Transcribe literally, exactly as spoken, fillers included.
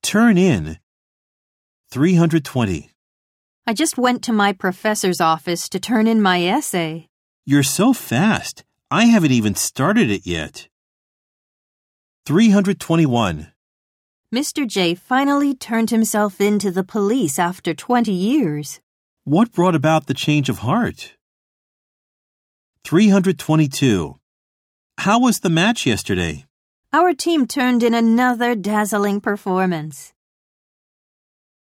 Turn in. three hundred twenty. I just went to my professor's office to turn in my essay. You're so fast. I haven't even started it yet. three hundred twenty-one. Mister J finally turned himself in to the police after twenty years. What brought about the change of heart? three hundred twenty-two. How was the match yesterday? Our team turned in another dazzling performance.